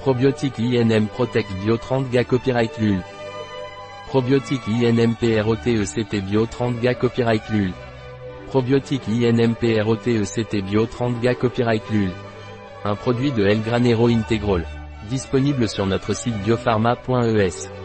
Probiotique INM Protect Bio 30G Copyright LUL. Probiotique INM PROTECT Bio 30G Copyright LUL. Probiotique INM PROTECT Bio 30G Copyright LUL. Un produit de El Granero Integral. Disponible sur notre site biopharma.es.